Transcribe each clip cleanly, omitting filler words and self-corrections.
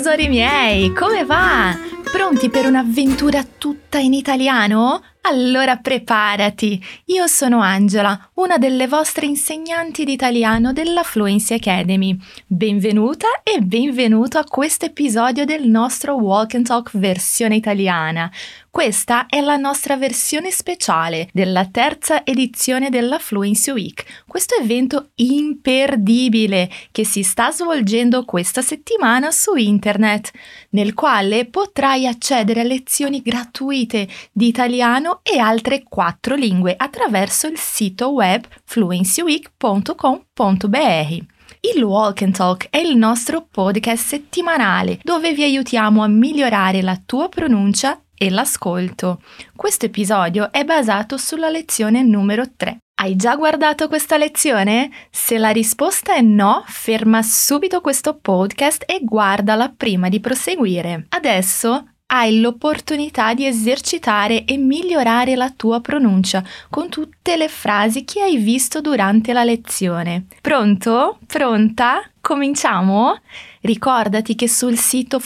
tesori miei, come va? Pronti per un'avventura tutta in italiano? Allora preparati! Io sono Angela, una delle vostre insegnanti di italiano della Fluency Academy. Benvenuta e benvenuto a questo episodio del nostro Walk and Talk versione italiana. Questa è la nostra versione speciale della terza edizione della Fluency Week, questo evento imperdibile che si sta svolgendo questa settimana su internet, nel quale potrai accedere a lezioni gratuite di italiano e altre 4 lingue attraverso il sito web fluencyweek.com.br. Il Walk and Talk è il nostro podcast settimanale dove vi aiutiamo a migliorare la tua pronuncia e l'ascolto. Questo episodio è basato sulla lezione numero 3. Hai già guardato questa lezione? Se la risposta è no, ferma subito questo podcast e guardala prima di proseguire. Adesso hai l'opportunità di esercitare e migliorare la tua pronuncia con tutte le frasi che hai visto durante la lezione. Pronto? Pronta? Cominciamo? Ricordati che sul sito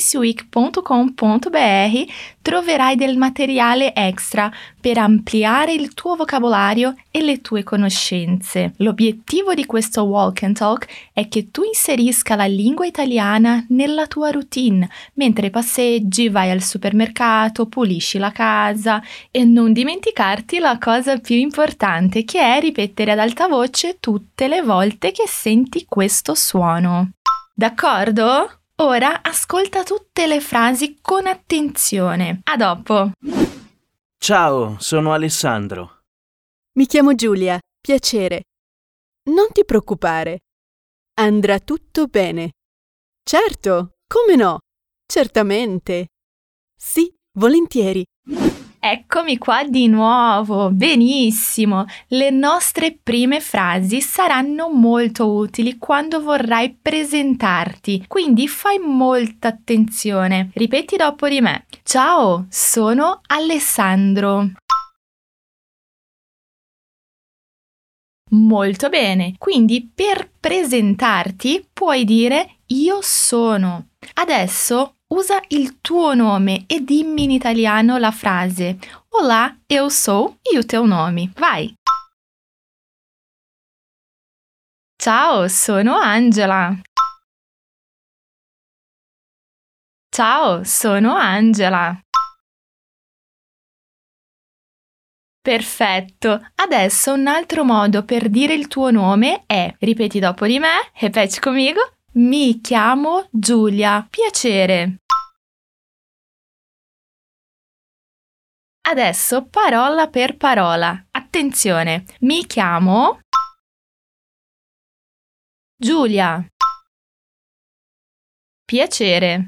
fluencyweek.com.br troverai del materiale extra per ampliare il tuo vocabolario e le tue conoscenze. L'obiettivo di questo Walk and Talk è che tu inserisca la lingua italiana nella tua routine, mentre passeggi, vai al supermercato, pulisci la casa e non dimenticarti la cosa più importante, che è ripetere ad alta voce tutte le volte che senti questo suono. D'accordo? Ora ascolta tutte le frasi con attenzione. A dopo! Ciao, sono Alessandro. Mi chiamo Giulia, piacere. Non ti preoccupare. Andrà tutto bene. Certo, come no? Certamente. Sì, volentieri. Eccomi qua di nuovo, benissimo! Le nostre prime frasi saranno molto utili quando vorrai presentarti, quindi fai molta attenzione. Ripeti dopo di me. Ciao, sono Alessandro. Molto bene, quindi per presentarti puoi dire io sono. Adesso usa il tuo nome e dimmi in italiano la frase Olá, eu sou e o teu nome. Vai! Ciao, sono Angela. Ciao, sono Angela. Perfetto. Adesso un altro modo per dire il tuo nome è, ripeti dopo di me, repete comigo, mi chiamo Giulia. Piacere. Adesso parola per parola. Attenzione, mi chiamo Giulia. Piacere.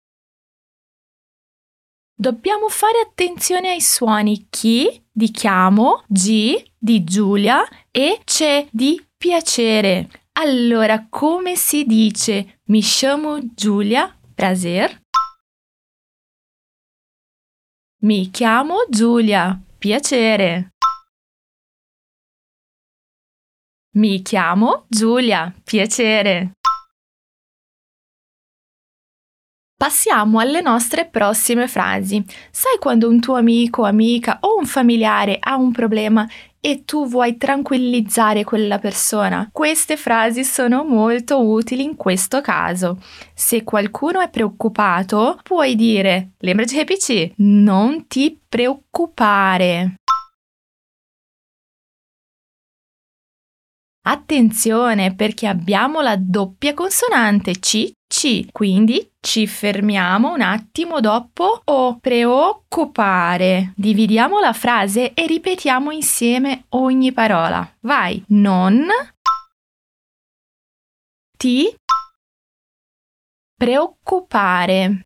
Dobbiamo fare attenzione ai suoni chi di chiamo, G di Giulia e C di piacere. Allora, come si dice mi chiamo Giulia? Prazer. Mi chiamo Giulia. Piacere. Mi chiamo Giulia. Piacere. Passiamo alle nostre prossime frasi. Sai quando un tuo amico, amica o un familiare ha un problema e tu vuoi tranquillizzare quella persona? Queste frasi sono molto utili in questo caso. Se qualcuno è preoccupato, puoi dire, lembra de repetir, non ti preoccupare. Attenzione perché abbiamo la doppia consonante C, quindi ci fermiamo un attimo dopo o preoccupare. Dividiamo la frase e ripetiamo insieme ogni parola. Vai, non ti preoccupare.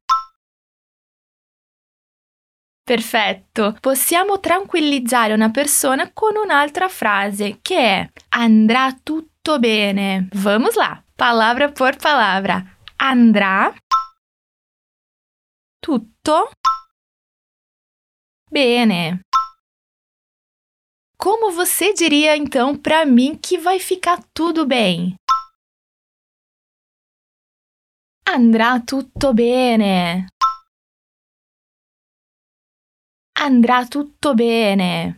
Perfetto, possiamo tranquillizzare una persona con un'altra frase che è andrà tutto bene. Vamos lá, palavra por palavra. Andrà tutto bene. Como você diria então para mim que vai ficar tudo bem? Andrà tutto bene. Andrà tutto bene.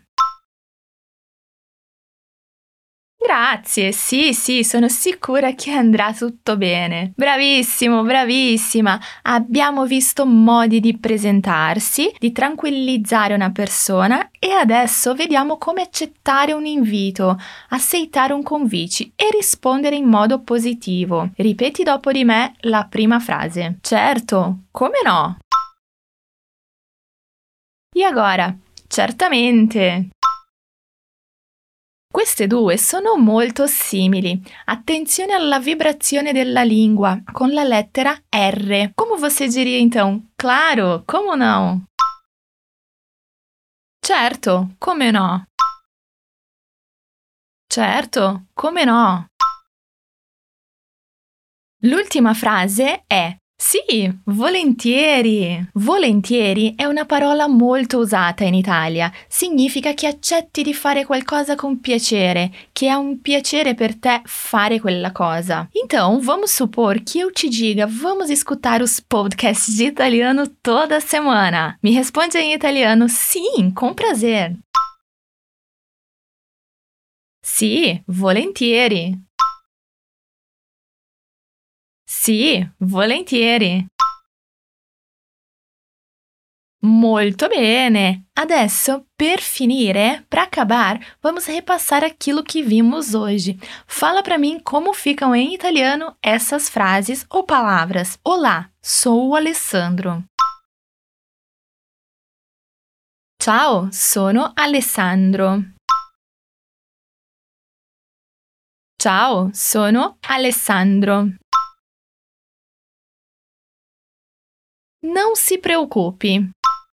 Grazie, sì, sono sicura che andrà tutto bene. Bravissimo, bravissima. Abbiamo visto modi di presentarsi, di tranquillizzare una persona e adesso vediamo come accettare un invito, accettare un convite e rispondere in modo positivo. Ripeti dopo di me la prima frase. Certo, come no? E agora? Certamente. Queste due sono molto simili. Attenzione alla vibrazione della língua com la lettera R. Como você diria então? Claro, como não? Certo, come no? Certo, come no? L'ultima frase è sì, volentieri. Volentieri è una parola molto usata in Italia. Significa che accetti di fare qualcosa com piacere, che è un piacere per te fare quella cosa. Então, vamos supor que eu te diga, vamos escutar os podcasts de italiano toda semana. Me responde em italiano, sim, com prazer. Sì, volentieri. Sì, volentieri. Molto bene! Adesso, per finire, para acabar, vamos repassar aquilo que vimos hoje. Fala para mim como ficam em italiano essas frases ou palavras. Olá, sou o Alessandro. Ciao, sono Alessandro. Ciao, sono Alessandro. Não se preocupe.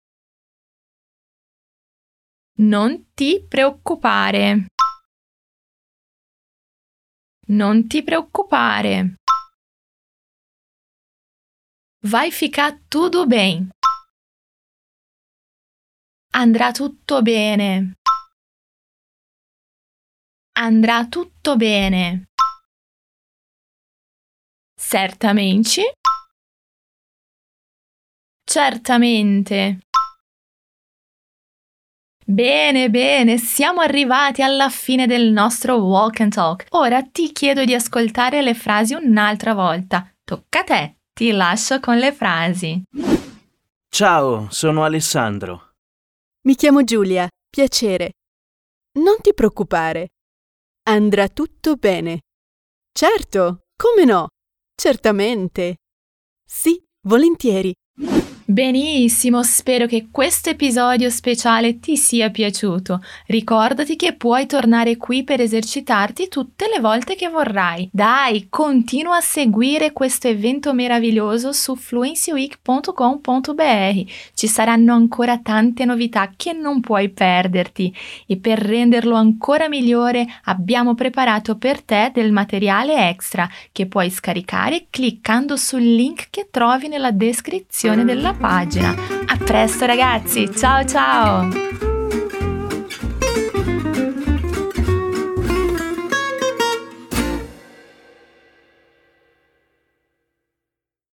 Non ti preoccupare. Non ti preoccupare. Vai ficar tudo bem. Andrà tutto bene. Andrà tutto bene. Certamente. Certamente. Bene, siamo arrivati alla fine del nostro Walk and Talk. Ora ti chiedo di ascoltare le frasi un'altra volta. Tocca a te, ti lascio con le frasi. Ciao, sono Alessandro. Mi chiamo Giulia, piacere. Non ti preoccupare. Andrà tutto bene. Certo, come no? Certamente. Sì, volentieri. Benissimo, spero che questo episodio speciale ti sia piaciuto. Ricordati che puoi tornare qui per esercitarti tutte le volte che vorrai. Dai, continua a seguire questo evento meraviglioso su fluencyweek.com.br. Ci saranno ancora tante novità che non puoi perderti e per renderlo ancora migliore abbiamo preparato per te del materiale extra che puoi scaricare cliccando sul link che trovi nella descrizione della pagina. A presto ragazzi, ciao ciao!